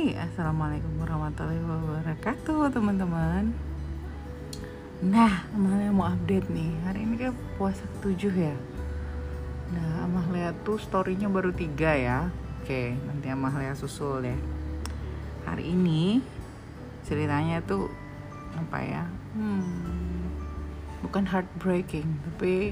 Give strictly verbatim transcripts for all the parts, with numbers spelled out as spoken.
Hai, assalamualaikum warahmatullahi wabarakatuh teman-teman. Nah, Amalia mau update nih. Hari ini kayak puasa ketujuh ya. Nah, Amalia tuh storynya baru tiga ya. Oke, nanti Amalia susul deh. Hari ini ceritanya tuh apa ya? Hmm, bukan heartbreaking, tapi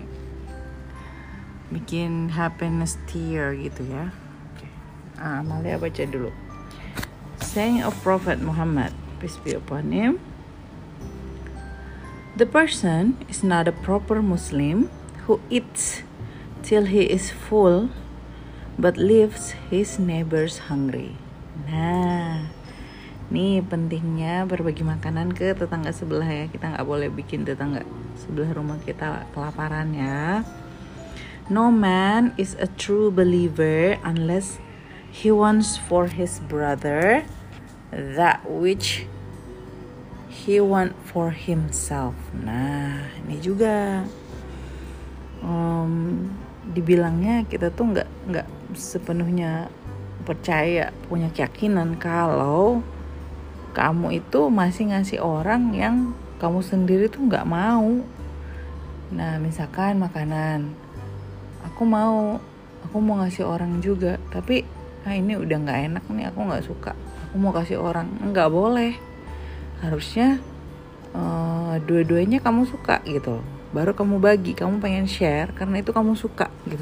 bikin happiness tear gitu ya. Oke, ah, Amalia baca dulu. Saying of Prophet Muhammad, peace be upon him. The person is not a proper Muslim who eats till he is full but leaves his neighbors hungry. Nah, nih pentingnya berbagi makanan ke tetangga sebelah ya. Kita nggak boleh bikin tetangga sebelah rumah kita kelaparan ya. No man is a true believer unless he wants for his brother that which he want for himself. Nah, ini juga um, dibilangnya kita tuh nggak nggak sepenuhnya percaya, punya keyakinan kalau kamu itu masih ngasih orang yang kamu sendiri tuh nggak mau. Nah, misalkan makanan, aku mau, aku mau ngasih orang juga, tapi ah ini udah nggak enak nih, aku nggak suka, aku mau kasih orang. Nggak boleh, harusnya uh, dua-duanya kamu suka gitu, baru kamu bagi, kamu pengen share karena itu kamu suka gitu.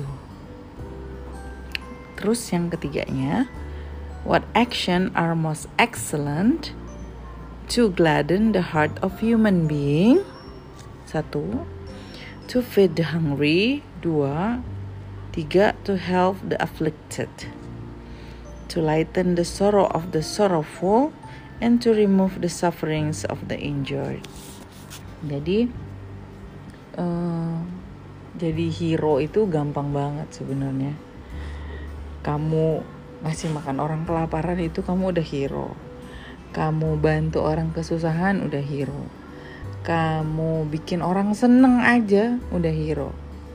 Terus yang ketiganya, what action are most excellent to gladden the heart of human being? Satu, to feed the hungry. Dua, tiga, to help the afflicted, to lighten the sorrow of the sorrowful, and to remove the sufferings of the injured. Jadi, uh, jadi hero itu gampang banget sebenarnya. Kamu ngasih makan orang kelaparan itu kamu udah hero. Kamu bantu orang kesusahan udah hero. Kamu bikin orang seneng aja udah hero.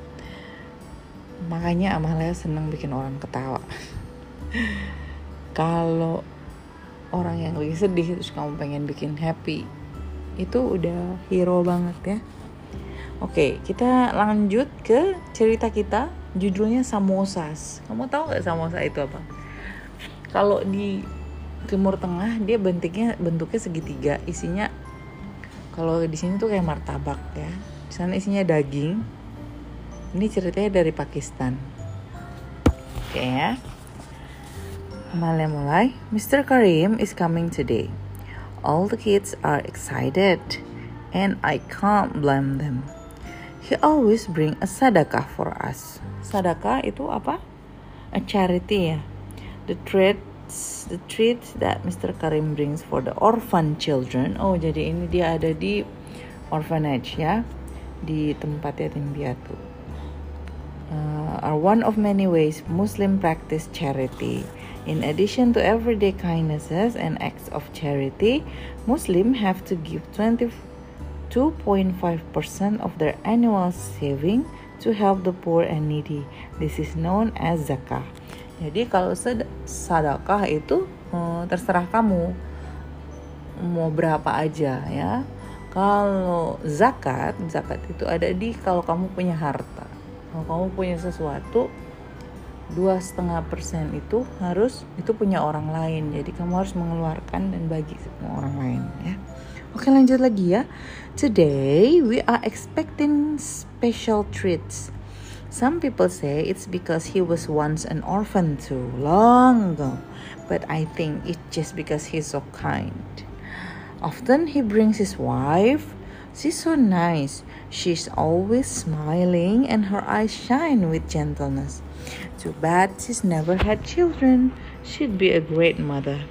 Makanya Amalia seneng bikin orang ketawa. Kalau orang yang lagi sedih terus kamu pengen bikin happy, itu udah hero banget ya. Oke, kita lanjut ke cerita kita. Judulnya samosas. Kamu tahu nggak samosa itu apa? Kalau di Timur Tengah dia bentuknya bentuknya segitiga, isinya kalau di sini tuh kayak martabak ya. Di sana isinya daging. Ini ceritanya dari Pakistan. Oke ya. Mulai mulai. mister Karim is coming today. All the kids are excited and I can't blame them. He always bring a sadaqah for us. Sadaqah itu apa? A charity ya. The treats, the treats that mister Karim brings for the orphan children. Oh, jadi ini dia ada di orphanage ya, di tempat yatim piatu. Uh, are one of many ways Muslim practice charity. In addition to everyday kindnesses and acts of charity, Muslims have to give twenty-two point five percent of their annual saving to help the poor and needy. This is known as zakah. Jadi kalau sedekah itu hmm, terserah kamu mau berapa aja ya. Kalau zakat, zakat itu ada di kalau kamu punya harta. Kalau kamu punya sesuatu, dua setengah persen itu harus itu punya orang lain. Jadi kamu harus mengeluarkan dan bagi sama orang lain ya. Oke, lanjut lagi ya. Today we are expecting special treats. Some people say it's because he was once an orphan too long ago, but I think it's just because he's so kind. Often he brings his wife. She's so nice. She's always smiling and her eyes shine with gentleness. Too bad she's never had children. She'd be a great mother.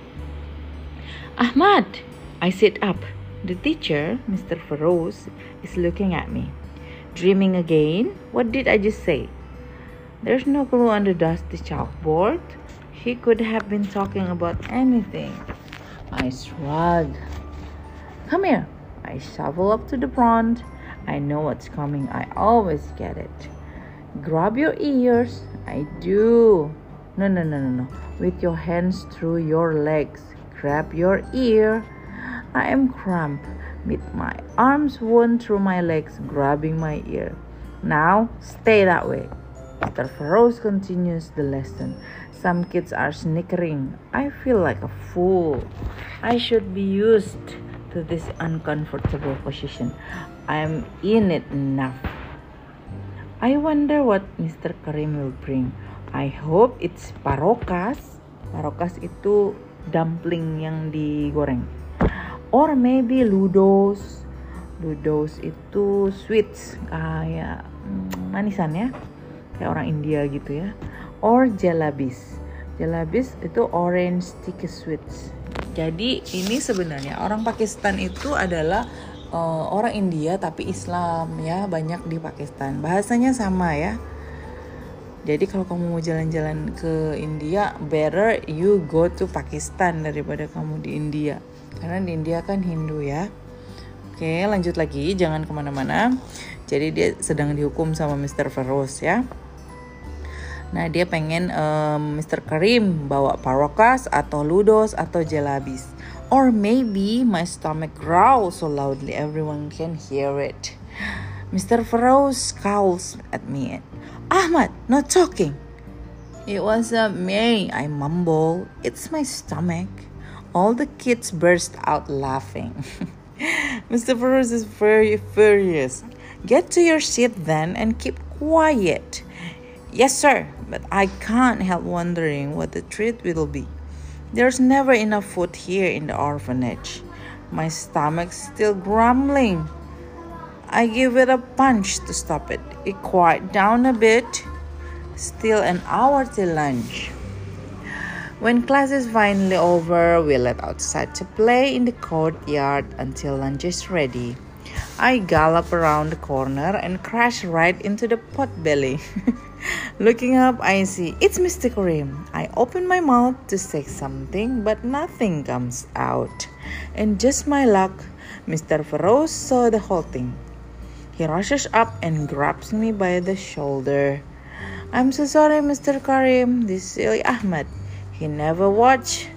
Ahmad, I sit up. The teacher, Mister Feroz, is looking at me. Dreaming again? What did I just say? There's no clue on the dusty chalkboard. He could have been talking about anything. I shrug. Come here. I shovel up to the front. I know what's coming. I always get it. Grab your ears. I do. No, no, no, no, no. With your hands through your legs. grab your ear. I am cramped, with my arms wound through my legs, grabbing my ear. Now, stay that way. Mister Feroz continues the lesson. Some kids are snickering. I feel like a fool. I should be used to this uncomfortable position. I am in it enough. I wonder what Mister Karim will bring. I hope it's parokas. Parokas itu dumpling yang digoreng. Or maybe ludos. Ludos itu sweets, kayak hmm, manisan ya, kayak orang India gitu ya. Or jalabis. Jalabis itu orange sticky sweets. Jadi ini sebenarnya orang Pakistan itu adalah uh, orang India tapi Islam ya, banyak di Pakistan. Bahasanya sama ya. Jadi kalau kamu mau jalan-jalan ke India, better you go to Pakistan daripada kamu di India. Karena di India kan Hindu ya. Oke, lanjut lagi, jangan kemana-mana. Jadi dia sedang dihukum sama Mister Feroz ya. Nah, dia pengen um, Mister Karim bawa parokas atau ludos atau jalabis. Or maybe my stomach growls so loudly everyone can hear it. Mister Feroz scowls at me. Ahmad, not talking. It wasn't me, I mumble. It's my stomach. All the kids burst out laughing. Mister Feroz is very furious. Get to your seat then and keep quiet. Yes, sir, but I can't help wondering what the treat will be. There's never enough food here in the orphanage. My stomach's still grumbling. I give it a punch to stop it. It quiet down a bit. Still an hour till lunch. When class is finally over, we let outside to play in the courtyard until lunch is ready. I gallop around the corner and crash right into the potbelly. Looking up, I see it's Mister Karim. I open my mouth to say something, but nothing comes out. And just my luck, Mister Feroz saw the whole thing. He rushes up and grabs me by the shoulder. I'm so sorry, Mister Karim, this silly Ahmad. He never watch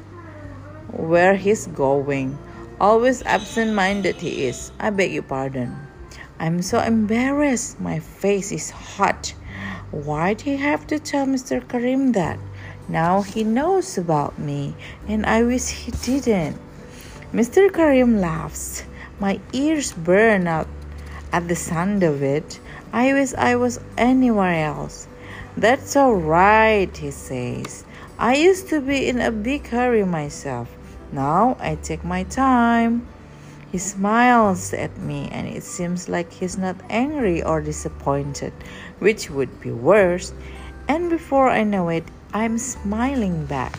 where he's going. Always absent-minded he is. I beg your pardon. I'm so embarrassed. My face is hot. Why'd he have to tell Mister Karim that? Now he knows about me, and I wish he didn't. Mister Karim laughs. My ears burn out at the sound of it. I wish I was anywhere else. That's all right, he says. I used to be in a big hurry myself. Now I take my time. He smiles at me and it seems like he's not angry or disappointed, which would be worse. And before I know it, I'm smiling back.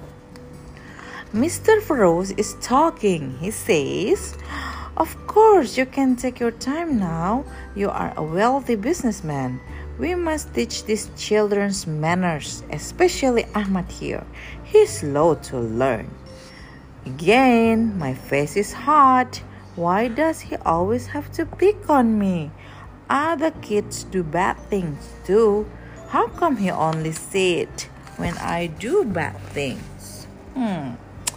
Mister Feroz is talking. He says, of course, you can take your time now. You are a wealthy businessman. We must teach these children manners, especially Ahmad here. He's slow to learn. Again, my face is hot. Why does he always have to pick on me? Other kids do bad things too. How come he only see it when I do bad things? Hmm.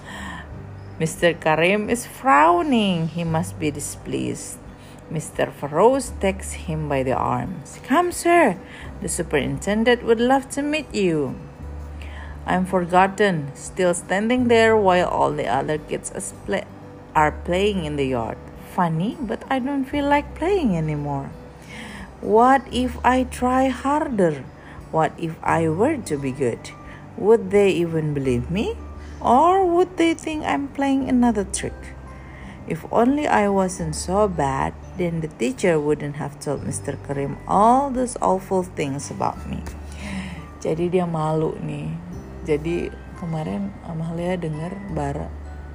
Mister Karim is frowning. He must be displeased. Mister Feroz takes him by the arms. Come, sir. The superintendent would love to meet you. I'm forgotten, still standing there while all the other kids are playing in the yard. Funny, but I don't feel like playing anymore. What if I try harder? What if I were to be good? Would they even believe me? Or would they think I'm playing another trick? If only I wasn't so bad, then the teacher wouldn't have told Mister Karim all those awful things about me. Jadi dia malu nih. Jadi kemarin Amalia dengar Bara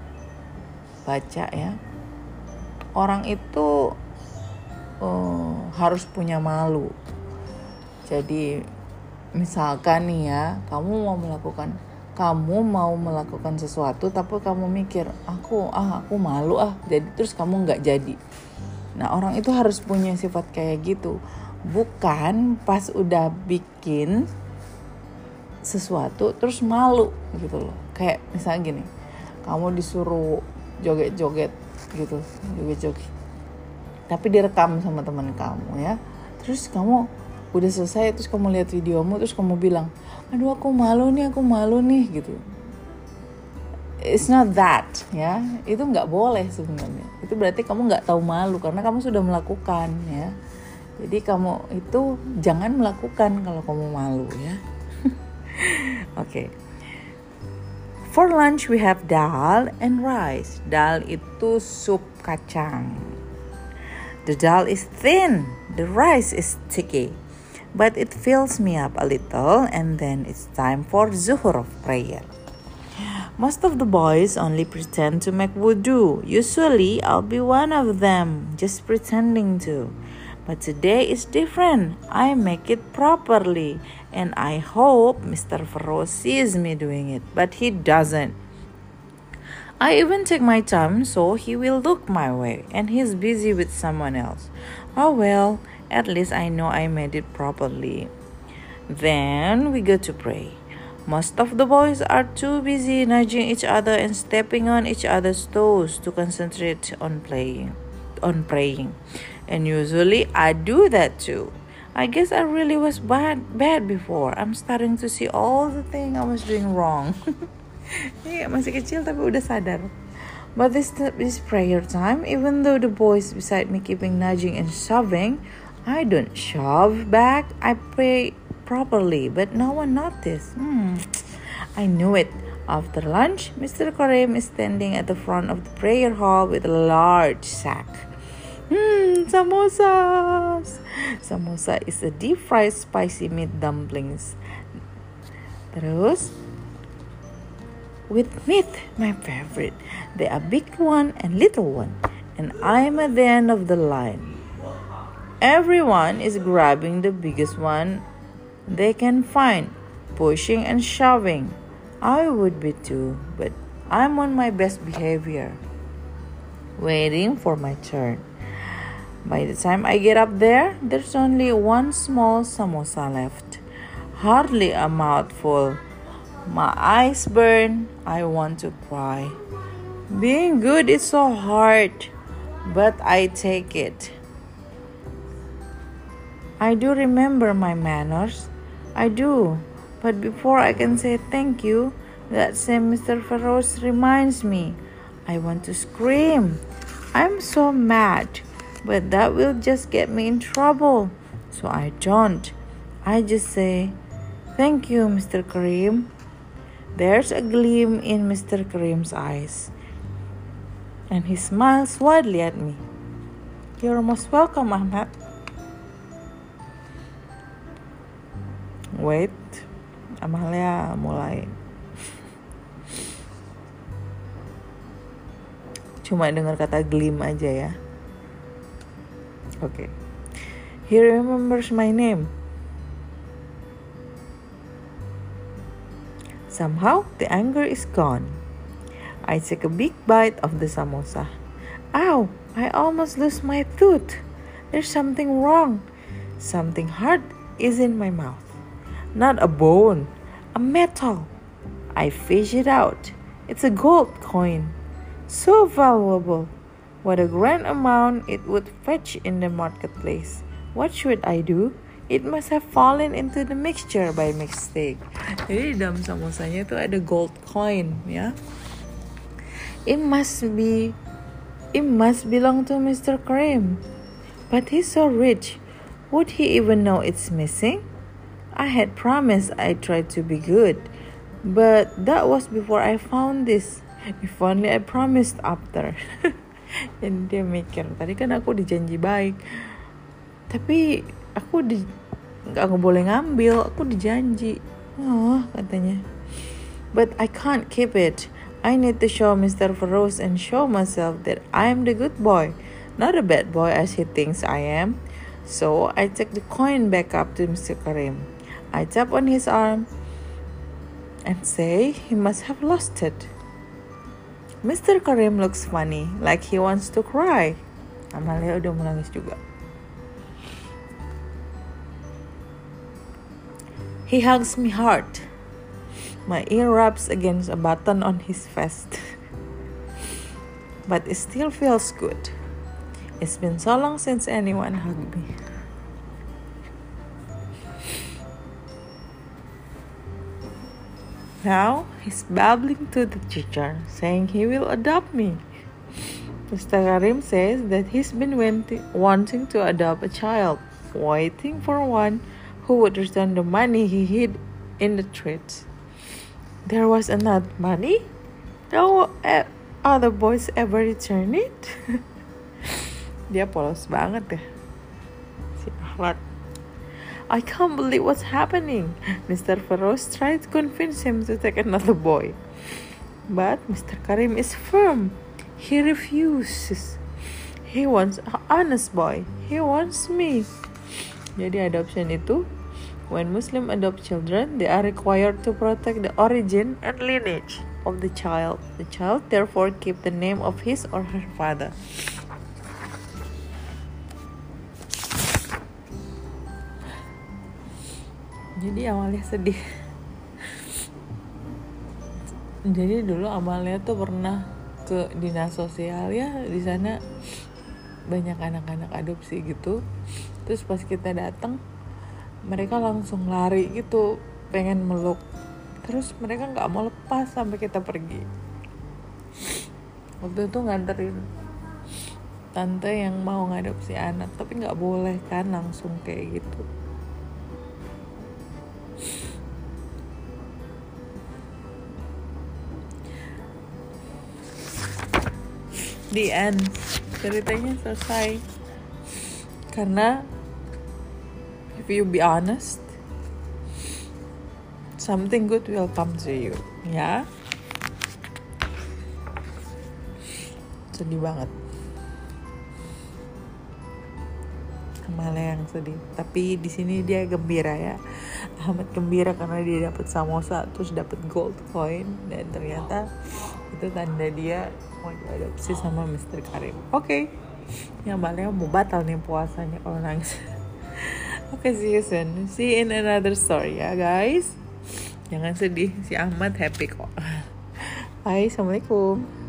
baca ya. Orang itu uh, harus punya malu. Jadi misalkan nih ya, kamu mau melakukan kamu mau melakukan sesuatu tapi kamu mikir aku ah aku malu ah jadi terus kamu nggak jadi. Nah orang itu harus punya sifat kayak gitu, bukan pas udah bikin sesuatu terus malu gitu loh. Kayak misalnya gini, kamu disuruh joget-joget gitu, joget-joget. Tapi direkam sama teman kamu ya. Terus kamu udah selesai, terus kamu lihat videomu, terus kamu bilang, aduh aku malu nih, aku malu nih gitu. It's not that ya, itu nggak boleh sebenarnya. Itu berarti kamu nggak tahu malu karena kamu sudah melakukan ya. Jadi kamu itu jangan melakukan kalau kamu malu ya. Oke. Okay. For lunch we have dal and rice. Dal itu sup kacang. The dal is thin, the rice is sticky, but it fills me up a little, and then it's time for zuhur of prayer. Most of the boys only pretend to make wudu. Usually I'll be one of them, just pretending to. But today is different. I make it properly. And I hope Mister Feroz sees me doing it. But he doesn't. I even take my time so he will look my way. And he's busy with someone else. Oh well, at least I know I made it properly. Then we go to pray. Most of the boys are too busy nudging each other and stepping on each other's toes to concentrate on playing, on praying. And usually I do that too. I guess I really was bad bad before. I'm starting to see all the things I was doing wrong. Iya, masih kecil tapi udah sadar. But this this prayer time, even though the boys beside me keeping nudging and shoving, I don't shove back. I pray properly, but no one noticed. Hmm. I knew it. After lunch, Mister Karim is standing at the front of the prayer hall with a large sack. Hmm, samosas. Samosa is a deep fried spicy meat dumplings. Terus, with meat, my favorite. There are big one and little one, and I'm at the end of the line. Everyone is grabbing the biggest one they can find, pushing and shoving. I would be too, but I'm on my best behavior, waiting for my turn. By the time I get up there, there's only one small samosa left. Hardly a mouthful. My eyes burn. I want to cry. Being good is so hard, but I take it. I do remember my manners. I do. But before I can say thank you, that same Mister Feroz reminds me. I want to scream. I'm so mad. But that will just get me in trouble. So I don't. I just say, thank you, Mister Karim. There's a gleam in Mister Karim's eyes. And he smiles widely at me. You're most welcome, Ahmad. Wait. Amalia mulai. Cuma dengar kata gleam aja ya. Okay. He remembers my name. Somehow, the anger is gone. I take a big bite of the samosa. Ow! I almost lose my tooth. There's something wrong. Something hard is in my mouth. Not a bone, a metal. I fish it out. It's a gold coin. So valuable. What a grand amount it would fetch in the marketplace. What should I do? It must have fallen into the mixture by mistake. Jadi dalam samosanya itu ada gold coin ya. It must be, it must belong to Mister Karim. But he's so rich. Would he even know it's missing? I had promised I'd try to be good. But that was before I found this. If only I promised after. Jadi dia mikir, tadi kan aku dijanji baik, tapi aku di nggak boleh ngambil, aku dijanji. Oh, katanya. But I can't keep it. I need to show Mister Feroz and show myself that I'm the good boy, not a bad boy as he thinks I am. So I take the coin back up to Mister Karim. I tap on his arm and say he must have lost it. Mister Karim looks funny, like he wants to cry. Amalia udah menangis juga. He hugs me hard. My ear rubs against a button on his vest. but it still feels good. It's been so long since anyone hugged me. Now he's babbling to the teacher, saying he will adopt me. Mister Karim says that he's been wanting to adopt a child, waiting for one who would return the money he hid in the trees. There was enough money? No other boys ever return it? Dia polos banget ya, si Ahmad. I can't believe what's happening. Mister Feroz tried to convince him to take another boy. But Mister Karim is firm. He refuses. He wants an honest boy. He wants me. Jadi adoption itu, when Muslim adopt children, they are required to protect the origin and lineage of the child. The child therefore keep the name of his or her father. Jadi Amalia sedih. Jadi dulu Amalia tuh pernah ke dinas sosial ya, di sana banyak anak-anak adopsi gitu. Terus pas kita datang, mereka langsung lari gitu, pengen meluk. Terus mereka nggak mau lepas sampai kita pergi. Waktu itu nganterin tante yang mau ngadopsi anak, tapi nggak boleh kan langsung kayak gitu. The end, ceritanya selesai. Karena if you be honest, something good will come to you, ya. Sedih banget. Amalia yang sedih, tapi di sini dia gembira ya. Ahmad gembira karena dia dapat samosa, terus dapat gold coin, dan ternyata itu tanda dia mau diadopsi sama Mister Karim. Oke, okay. Ya Amalia mau batal nih puasanya kalau nangis. Oke, okay, see you soon. See you in another story ya guys. Jangan sedih, si Ahmad happy kok. Bye, assalamualaikum.